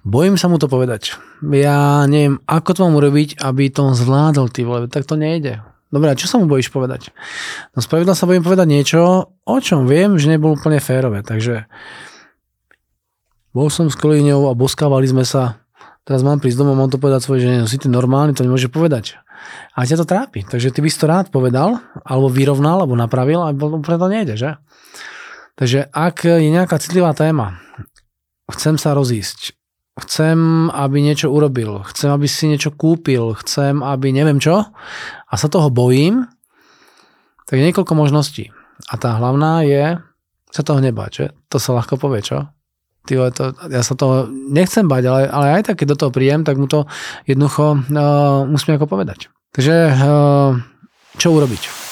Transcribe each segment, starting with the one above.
Bojím sa mu to povedať. Ja neviem, ako to mám urobiť, aby to on zvládol, ty vole, tak to nejde. Dobre, a čo sa mu bojíš povedať? No spravidla sa bojím povedať niečo, o čom viem, že nebolo úplne férové, takže bol som s kolegyňou a boskávali sme sa, teraz mám prísť domov, mám to povedať svojej žene, no si ty normálny, to nemôže povedať. A ťa to trápi, takže ty by si to rád povedal, alebo vyrovnal, alebo napravil, a úplne to nejde, že? Takže ak je nejaká citlivá téma, chcem sa rozísť, chcem, aby niečo urobil, chcem, aby si niečo kúpil, chcem, aby neviem čo, a sa toho bojím, tak je niekoľko možností. A tá hlavná je sa toho nebáť, že? To sa ľahko povie, čo? Ja sa toho nechcem bať, ale aj tak, keď do toho príjem, tak mu to jednoducho musím ako povedať. Takže čo urobiť?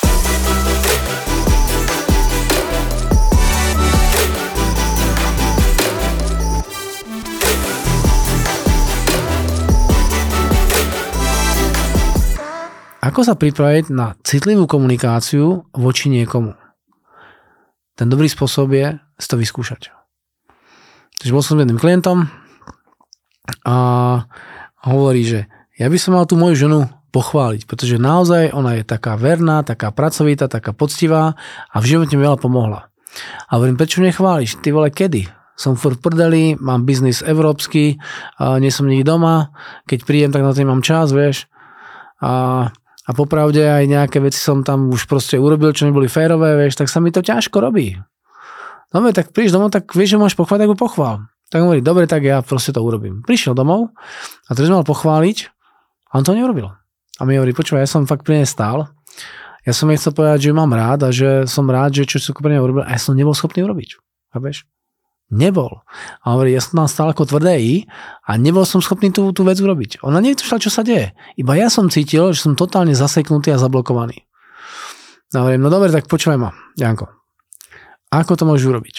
Ako sa pripraviť na citlivú komunikáciu voči niekomu? Ten dobrý spôsob je si to vyskúšať. Takže bol som s jedným klientom a hovorí, že ja by som mal tú moju ženu pochváliť, pretože naozaj ona je taká verná, taká pracovitá, taká poctivá a v živote mi veľa pomohla. A hovorím, prečo nechváliš? Ty vole, kedy? Som furt v prdeli, mám biznis európsky, nie som nikdy doma, keď príjem, tak na to mám čas, vieš. A popravde aj nejaké veci som tam už proste urobil, čo neboli férové, vieš, tak sa mi to ťažko robí. Dobre, tak prídeš domov, tak vieš, že môžeš pochváliť, tak ho pochvál. Tak hovorí, dobre, tak ja proste to urobím. Prišiel domov a teraz mal pochváliť a on to neurobil. A mi hovorí, počúvaj, ja som fakt pri nej stál. Ja som jej chcel povedať, že ju mám rád a že som rád, že čo pre nej urobil a ja som nebol schopný urobiť. Chápeš? Nebol. A hovorí, ja som tam stál ako tvrdé I a nebol som schopný tú vec urobiť. Ona netušila, čo sa deje. Iba ja som cítil, že som totálne zaseknutý a zablokovaný. A hovorím, no dobre, tak počúvaj ma, Janko. Ako to môžeš urobiť?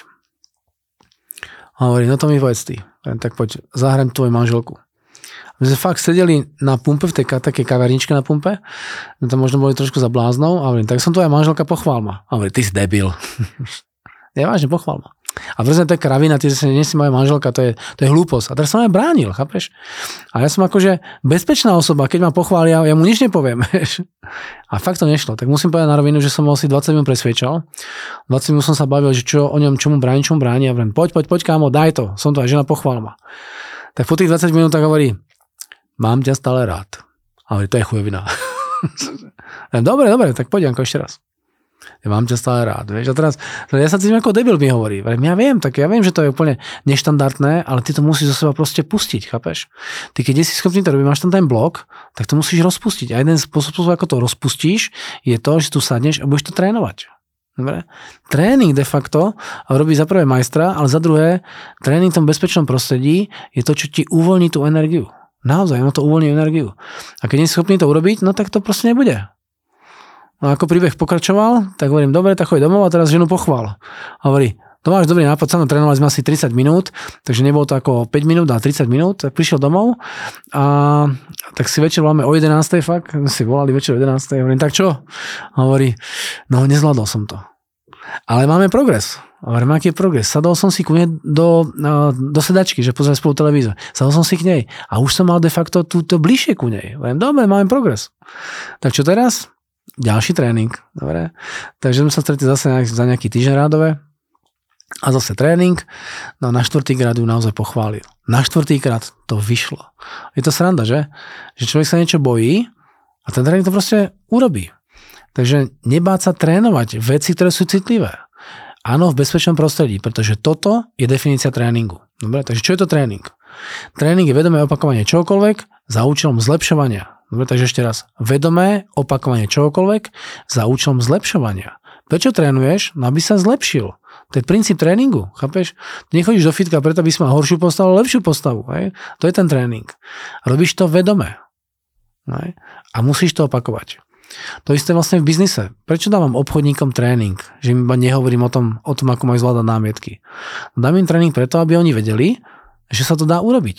A hovorí, no to mi povedz ty. Tak poď, zahrám tvoju manželku. My sme fakt sedeli na pumpe, v tej takej kaverničke na pumpe. My tam možno boli trošku za bláznou. A hovorím, tak som tvoja manželka, pochvál ma. A hovorí, ty si debil. Nevážne, pochvál ma. A presne to je kravina, ty si nie si moja manželka, to je hlúposť. A teraz som aj bránil, chápeš? A ja som akože bezpečná osoba, keď ma pochvália, ja mu nič nepoviem. A fakt to nešlo. Tak musím povedať na rovinu, že som ho asi 20 minút presviečal. 20 minút som sa bavil, že čo o ňom, čomu bráni. A vrem, poď, kámo, daj to. Som to aj žena, pochvál ma. Tak po tých 20 minútach hovorí, mám ťa stále rád. A hovorí, to je chujovina. Dobre, tak poď, Janko, ešte raz. Ja mám ťa stále rád, vieš. A teraz, ja sa cítim ako debil, mi hovorí. Ja viem, že to je úplne neštandardné, ale ty to musíš zo seba proste pustiť, chápeš? Ty keď si schopný to robiť, máš tam ten blok, tak to musíš rozpustiť. A jeden spôsob, ako to rozpustíš, je to, že tu sadneš a budeš to trénovať. Dobre? Tréning de facto robí za prvé majstra, ale za druhé, tréning v tom bezpečnom prostredí je to, čo ti uvoľní tú energiu. Naozaj, ono to uvoľní energiu. A keď nie si schopný to urobiť, no tak to proste nebude. No ako príbeh pokračoval, tak hovorím, dobre, tak choď domov a teraz ženu pochvál. A hovorí, to máš dobrý nápad, sa mnou trénovali sme asi 30 minút, takže nebolo to ako 5 minút, ale 30 minút, tak prišiel domov a tak si večer voláme o 11. fakt, si volali večer o 11. Hovorím, tak čo? A hovorí, no nezvládol som to. Ale máme progres. A hovorím, aký je progres? Sadol som si ku nej do sedačky, že pozerám spolu televízor. Sadol som si k nej a už som mal de facto túto bližšie ku nej. Hovorím, dobre, máme progres. Tak čo teraz? Ďalší tréning, dobre. Takže sme sa stretli zase za nejaký týždeň rádové a zase tréning. No na 4. krát ju naozaj pochválil. Na 4. krát to vyšlo. Je to sranda, že? Že človek sa niečo bojí a ten tréning to proste urobí. Takže nebáť sa trénovať veci, ktoré sú citlivé. Áno, v bezpečnom prostredí, pretože toto je definícia tréningu. Dobre, takže čo je to tréning? Tréning je vedomé opakovanie čokoľvek za účelom zlepšovania. Dobre, takže ešte raz. Vedomé opakovanie čokoľvek za účelom zlepšovania. Prečo trénuješ? No aby sa zlepšil. To je princíp tréningu, chápeš? Ty nechodíš do fitka preto, aby si mal horšiu postavu, lepšiu postavu. Hej? To je ten tréning. Robíš to vedomé. Hej? A musíš to opakovať. To isté vlastne v biznise. Prečo dávam obchodníkom tréning? Že im iba nehovorím o tom, ako majú zvládať námietky. Dám im tréning preto, aby oni vedeli, že sa to dá urobiť.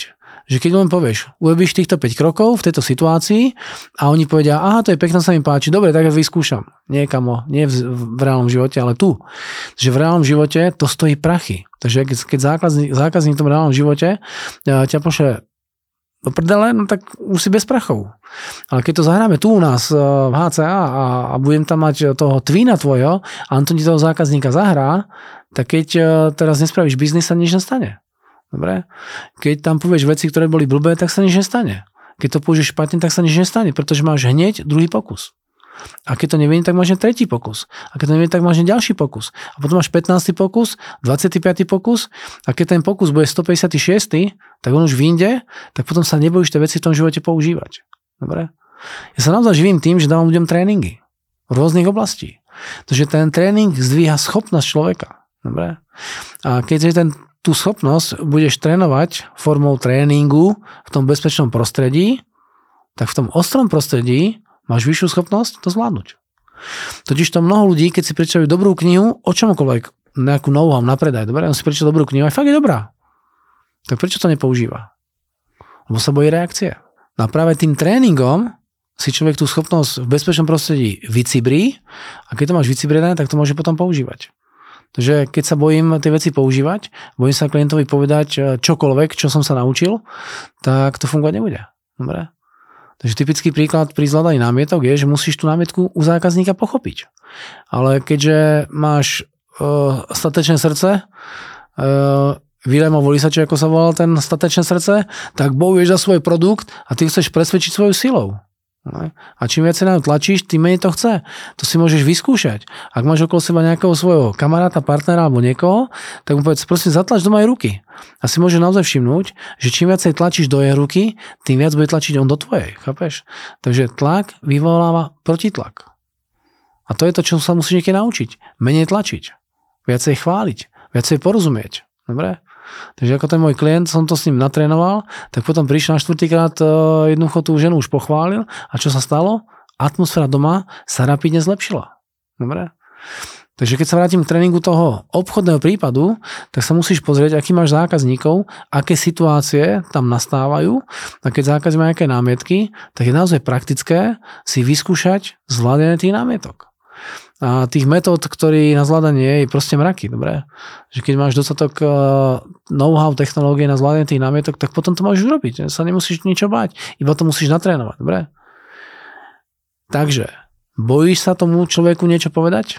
Že keď len povieš, urobíš týchto 5 krokov v tejto situácii a oni povedia, aha, to je pekné, sa mi páči, dobre, tak ja vyskúšam. Nie kamo, nie v reálnom živote, ale tu. Že v reálnom živote to stojí prachy. Takže keď zákazník v tom reálnom živote ťa pošle do prdele, no tak už si bez prachov. Ale keď to zahráme tu u nás v HCA a budem tam mať toho twina tvojho a on to ti toho zákazníka zahrá, tak keď teraz nespravíš biznis, sa nič nestane. Dobre? Keď tam povieš veci, ktoré boli blbé, tak sa nič nestane. Keď to použiješ špatne, tak sa nič nestane, pretože máš hneď druhý pokus. A keď to nevinie, tak máš tretí pokus. A keď to nevinie, tak máš ďalší pokus. A potom máš 15. pokus, 25. pokus a keď ten pokus bude 156., tak on už vyjde, tak potom sa nebojíš tie veci v tom živote používať. Dobre? Ja sa naozaj živím tým, že dávam ľuďom tréningy v rôznych oblastí. Takže ten tréning zdvíha schopnosť človeka. Dobre? A keď tú schopnosť budeš trénovať formou tréningu v tom bezpečnom prostredí, tak v tom ostrom prostredí máš vyššiu schopnosť to zvládnuť. Totiž to mnoho ľudí, keď si prečítajú dobrú knihu, o čomkoľvek, nejakú know-how na predaj, dobre, on si prečíta dobrú knihu, aj fakt je dobrá. Tak prečo to nepoužíva? Lebo sa bojí reakcie. No a práve tým tréningom si človek tú schopnosť v bezpečnom prostredí vycibrí a keď to máš vycibrené, tak to môže potom používať. Takže keď sa bojím tie veci používať, bojím sa klientovi povedať čokoľvek, čo som sa naučil, tak to fungovať nebude. Dobre? Takže typický príklad pri zvládaní námietok je, že musíš tú námietku u zákazníka pochopiť. Ale keďže máš statečné srdce, Vilémovo Lisače, ako sa volal ten statečné srdce, tak bojuješ za svoj produkt a ty chceš presvedčiť svojou silou. A čím viac na ňu tlačíš, tým menej to chce. To si môžeš vyskúšať. Ak máš okolo seba nejakého svojho kamaráta, partnera alebo niekoho, tak mu povedz, prosím, zatlač do mojej ruky. A si môžeš naozaj všimnúť, že čím viacej tlačíš do jej ruky, tým viac bude tlačiť on do tvojej. Chápeš? Takže tlak vyvoláva protitlak. A to je to, čo sa musíš niekedy naučiť. Menej tlačiť. Viacej chváliť. Viacej porozumieť. Dobre? Takže ako ten môj klient, som to s ním natrénoval, tak potom prišiel na 4. krát jednoducho tú ženu už pochválil a čo sa stalo? Atmosféra doma sa rapidne zlepšila. Dobre? Takže keď sa vrátim k tréningu toho obchodného prípadu, tak sa musíš pozrieť, aký máš zákazníkov, aké situácie tam nastávajú a keď zákazník má nejaké námietky, tak je naozaj praktické si vyskúšať zvládanie tých námietok. A tých metód, ktorý na zvládanie je proste mraky, dobre? Že keď máš dostatok know-how technológie na zvládanie tých námietok, tak potom to môžeš urobiť. Sa nemusíš ničo báť, iba to musíš natrénovať, dobre? Takže, bojíš sa tomu človeku niečo povedať?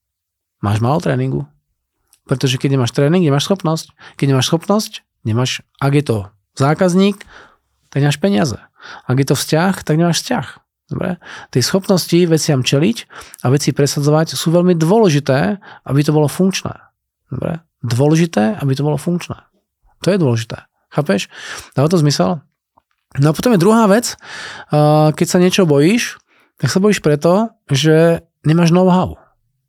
Máš málo tréningu. Pretože keď nemáš tréning, nemáš schopnosť. Keď nemáš schopnosť, nemáš, ak je to zákazník, tak nemáš peniaze. Ak je to vzťah, tak nemáš vzťah. Dobre? Tie schopnosti veciam čeliť a veci presadzovať sú veľmi dôležité, aby to bolo funkčné. Dobre? Dôležité, aby to bolo funkčné. To je dôležité. Chápeš? Dáva to zmysel? No a potom je druhá vec, keď sa niečo bojíš, tak sa bojíš preto, že nemáš know-how.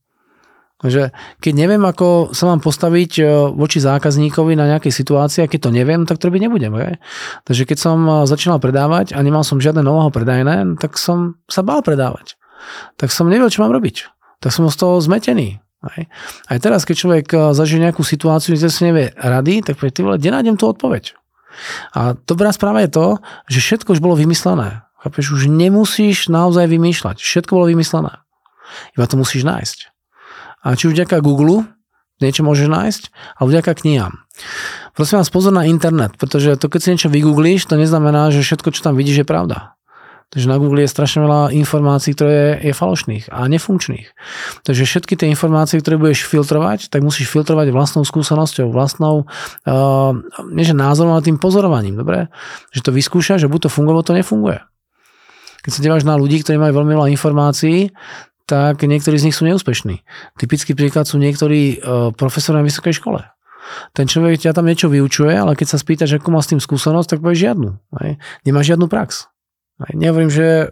Takže keď neviem, ako sa mám postaviť voči zákazníkovi na nejakej situácii, a keď to neviem, tak to robiť nebudem. Okay? Takže keď som začínal predávať a nemal som žiadne know-how predajné, tak som sa bál predávať. Tak som nevedel, čo mám robiť. Tak som z toho zmetený. Aj teraz, keď človek zažije nejakú situáciu, kde si nevie rady, tak povie, ty vole, kde nájdem tú odpoveď? A dobrá správa je to, že všetko už bolo vymyslené. Chápeš, už nemusíš naozaj vymýšľať. Všetko bolo vymyslené. Iba to musíš nájsť. A či už vďaka Google niečo môžeš nájsť, alebo vďaka knihám. Prosím vás, pozor na internet, pretože to, keď si niečo vygooglíš, to neznamená, že všetko, čo tam vidíš, je pravda. Takže na Google je strašne veľa informácií, ktoré je falošných a nefunkčných. Takže všetky tie informácie, ktoré budeš filtrovať, tak musíš filtrovať vlastnou skúsenosťou, vlastnou, nie že názorom, ale tým pozorovaním. Dobre? Že to vyskúšaš, že buď to funguje, alebo to nefunguje. Keď sa díváš na ľudí, ktorí majú veľmi veľa informácií, tak niektorí z nich sú neúspešní. Typický príklad sú niektorí profesori na vysokej škole. Ten človek ťa tam niečo vyučuje, ale keď sa spýtaš, akú má s tým skúsenosť, tak povieš žiadnu. Nemá žiadnu prax. Nehovorím, že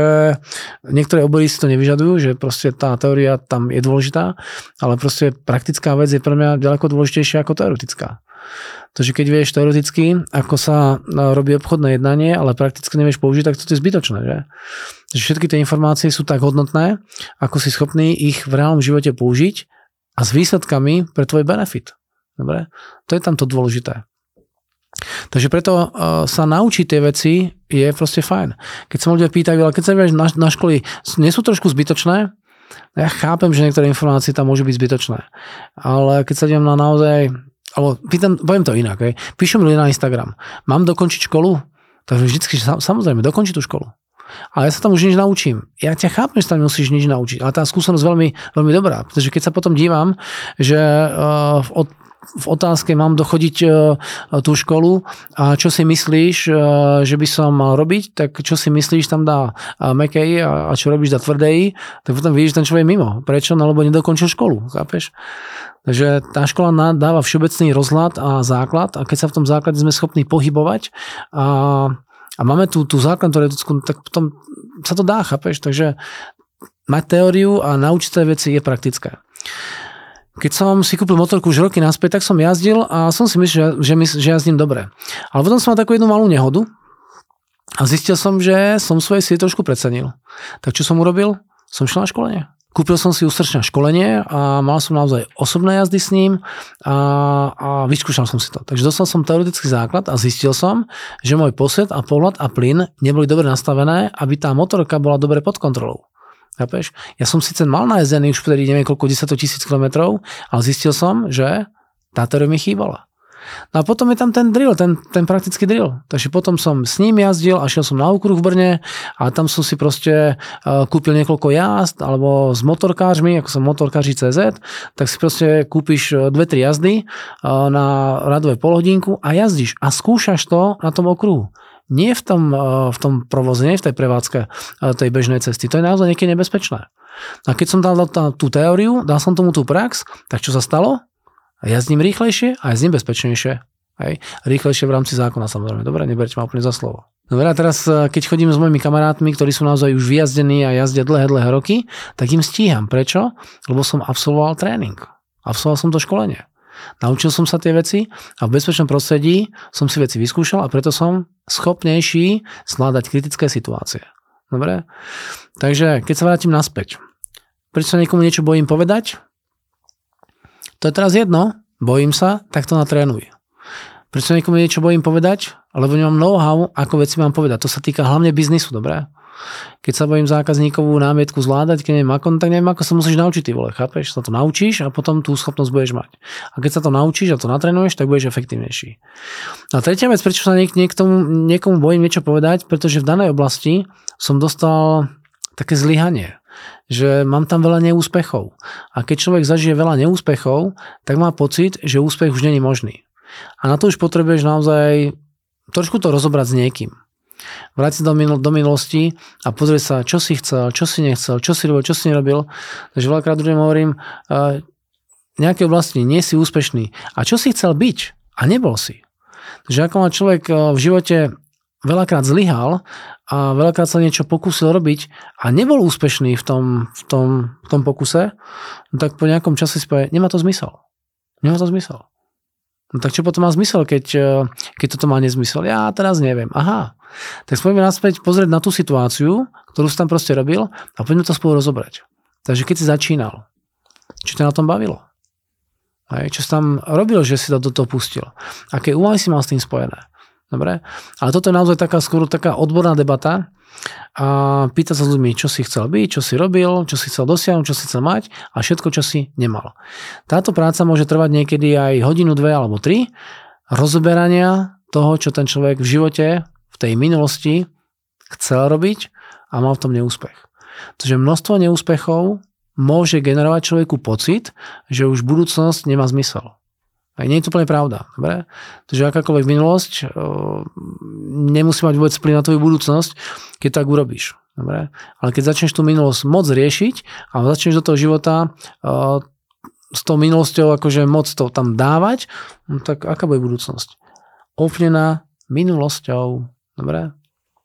niektoré obory si to nevyžadujú, že proste tá teória tam je dôležitá, ale proste praktická vec je pre mňa ďaleko dôležitejšia ako teoretická. Takže keď vieš teoreticky, ako sa robí obchodné jednanie, ale prakticky nevieš použiť, tak to je zbytočné. Že? Takže všetky tie informácie sú tak hodnotné, ako si schopný ich v reálnom živote použiť a s výsledkami pre tvoj benefit. Dobre? To je tam to dôležité. Takže preto sa naučiť tie veci je proste fajn. Keď sa ľudia pýtajú, ale keď sa vieš na školy, nie sú trošku zbytočné? Ja chápem, že niektoré informácie tam môžu byť zbytočné. Ale keď sa idem na naozaj, alebo poviem to inak, píšu mi ľudia na Instagram, mám dokončiť školu? Takže vždycky, samozrejme, dokončiť tú školu. Ale ja sa tam už nič naučím. Ja ťa chápem, že tam musíš nič naučiť. Ale tá skúsenosť veľmi, veľmi dobrá. Pretože keď sa potom dívam, že v otázke mám dochodiť tú školu a čo si myslíš, že by som mal robiť, tak čo si myslíš tam dá mekej a čo robíš dá tvrdej, tak potom vidíš, že ten človek mimo. Prečo? No lebo nedokončil školu. Chápeš? Takže tá škola dáva všeobecný rozhľad a základ a keď sa v tom základe sme schopní pohybovať a máme tú základnú teoretickú, tak potom sa to dá, chápeš? Takže mať teóriu a naučiť sa veci je praktické. Keď som si kúpil motorku už roky naspäť, tak som jazdil a som si myslel, že jazdím dobre. Ale potom som mal takú jednu malú nehodu a zistil som, že som svoje síly trošku precenil. Tak čo som urobil? Som šiel na školenie. Kúpil som si ústrčné školenie a mal som naozaj osobné jazdy s ním a vyskúšal som si to. Takže dostal som teoretický základ a zistil som, že môj posed a pohľad a plyn neboli dobre nastavené, aby tá motorka bola dobre pod kontrolou. Chápeš? Ja som síce mal najezdený už vtedy neviem koľko 10 000 kilometrov, ale zistil som, že tá teória mi chýbala. No a potom je tam ten drill, ten praktický drill. Takže potom som s ním jazdil a šiel som na okruh v Brne a tam som si proste kúpil niekoľko jazd alebo s motorkářmi, ako som motorkáři CZ, tak si proste kúpiš 2-3 jazdy na radové polhodinku a jazdíš a skúšaš to na tom okruhu. Nie v tom provoze, nie v tej prevádzke tej bežnej cesty. To je naozaj niekedy nebezpečné. A keď som dal tú teóriu, dal som tomu tú prax, tak čo sa stalo? Jazdím rýchlejšie a jazdím bezpečnejšie. Hej. Rýchlejšie v rámci zákona, samozrejme. Dobre, neberte ma úplne za slovo. Dobre, a teraz, keď chodím s mojimi kamarátmi, ktorí sú naozaj už vyjazdení a jazdia dlhé roky, tak im stíham. Prečo? Lebo som absolvoval tréning. Absolvoval som to školenie. Naučil som sa tie veci a v bezpečnom prostredí som si veci vyskúšal a preto som schopnejší zvládať kritické situácie. Dobre? Takže keď sa vrátim naspäť. Prečo sa niekomu niečo bojím povedať? To je teraz jedno. Bojím sa, tak to natrénuj. Prečo sa niekomu niečo bojím povedať? Lebo nemám know-how, ako veci mám povedať. To sa týka hlavne biznisu, dobre? Keď sa bojím zákazníkovú námietku zvládať, keď neviem ako, tak neviem ako sa musíš naučiť, ty vole, chápeš? Sa to naučíš a potom tú schopnosť budeš mať. A keď sa to naučíš a to natrénuješ, tak budeš efektívnejší. A tretia vec, prečo sa niekomu bojím niečo povedať, pretože v danej oblasti som dostal také zlyhanie, že mám tam veľa neúspechov. A keď človek zažije veľa neúspechov, tak má pocit, že úspech už nie je možný. A na to už potrebuješ naozaj trošku to rozobrať s niekým. Vrátiť do minulosti a pozrieť sa, čo si chcel, čo si nechcel, čo si robil, čo si nerobil. Takže veľakrát ľuďom hovorím, v nejakej oblasti nie si úspešný. A čo si chcel byť? A nebol si. Takže ako má človek v živote veľakrát zlyhal a veľakrát sa niečo pokúsil robiť a nebol úspešný v tom pokuse, no tak po nejakom čase si povie, nemá to zmysel. Nemá to zmysel. No tak čo potom má zmysel, keď toto má nezmysel? Ja teraz neviem. Aha. Tak poďme naspäť pozrieť na tú situáciu, ktorú si tam proste robil a poďme to spolu rozobrať. Takže keď si začínal, čo ťa na tom bavilo? Čo si tam robil, že si to do toho pustil? Aké úvahy si mal s tým spojené? Dobre? Ale toto je naozaj skôr taká odborná debata a pýtať sa s ľuďmi, čo si chcel byť, čo si robil, čo si chcel dosiahnuť, čo si chcel mať a všetko, čo si nemal. Táto práca môže trvať niekedy aj hodinu, 2 alebo 3 rozoberania toho, čo ten človek v živote, v tej minulosti chcel robiť a mal v tom neúspech. Takže množstvo neúspechov môže generovať človeku pocit, že už budúcnosť nemá zmysel. A nie je to úplne pravda. Dobre? Takže akákoľvek minulosť nemusí mať vôbec vplyv na tvoju budúcnosť, keď tak urobíš. Dobre? Ale keď začneš tú minulosť moc riešiť a začneš do toho života s tou minulosťou akože moc to tam dávať, no tak aká bude budúcnosť? Ovplyvnená minulosťou. Dobre?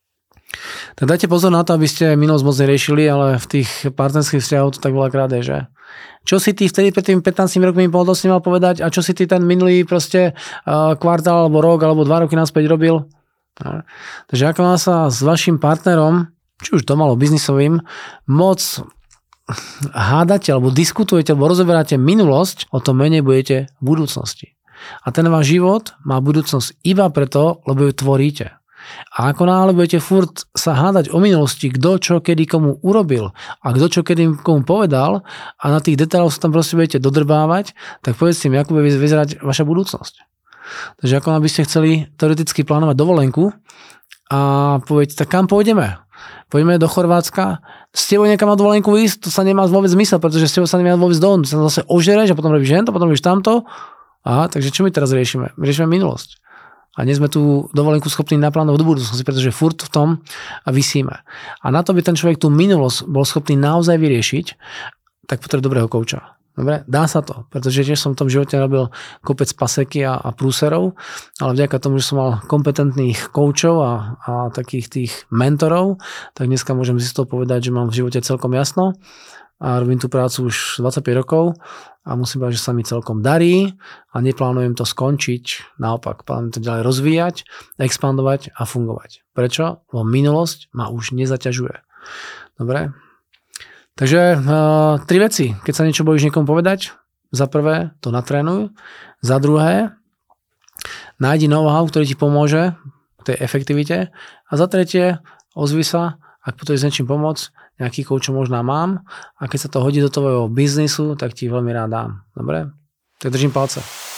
Tak dajte pozor na to, aby ste minulosť moc neriešili, ale v tých partnerských vzťahoch to tak veľakrát je, že? Čo si ty vtedy pred tými 15 rokmi mal povedať a čo si ty ten minulý proste kvartál alebo rok alebo 2 roky naspäť robil? No. Takže ako má sa s vašim partnerom, či už doma alebo biznisovým, moc hádate alebo diskutujete alebo rozoberáte minulosť, o tom menej budete v budúcnosti. A ten váš život má budúcnosť iba preto, lebo ju tvoríte. A ako náhle budete furt sa hádať o minulosti, kto čo kedy komu urobil a kto čo kedy komu povedal a na tých detailoch sa tam proste budete dodrbávať, tak povedzte mi, ako bude vyzerať vaša budúcnosť. Takže ako by ste chceli teoreticky plánovať dovolenku a poviete, tak kam pôjdeme? Poďme do Chorvátska, s tebou niekam na dovolenku ísť, to sa nemá vôbec zmysel, pretože s tebou sa nemá vôbec dohodnúť, sa zase ožereš a potom robíš hento, potom robíš tamto. Aha, takže čo my teraz riešime? Riešime minulosť. A nie sme tú dovolenku schopní naplánovať do budúcnosti, pretože furt v tom visíme. A na to by ten človek tú minulosť bol schopný naozaj vyriešiť, tak potrebuje dobrého kouča. Dobre, dá sa to, pretože tiež som v tom živote robil kopec paseky a prúserov, ale vďaka tomu, že som mal kompetentných koučov a takých tých mentorov, tak dneska môžem si to povedať, že mám v živote celkom jasno a robím tú prácu už 25 rokov a musím povedať, že sa mi celkom darí a neplánujem to skončiť, naopak, plánujem to ďalej rozvíjať, expandovať a fungovať. Prečo? Lebo minulosť ma už nezaťažuje. Dobre? Takže 3 veci. Keď sa niečo bojíš niekomu povedať, za prvé to natrénuj, za druhé nájdi know-how, ktorý ti pomôže v tej efektivite a za tretie ozvi sa, ak potrebuješ s niečím pomôcť, nejaký coach možná mám a keď sa to hodí do tvojho biznisu, tak ti veľmi rád dám. Dobre? Tak držím palce.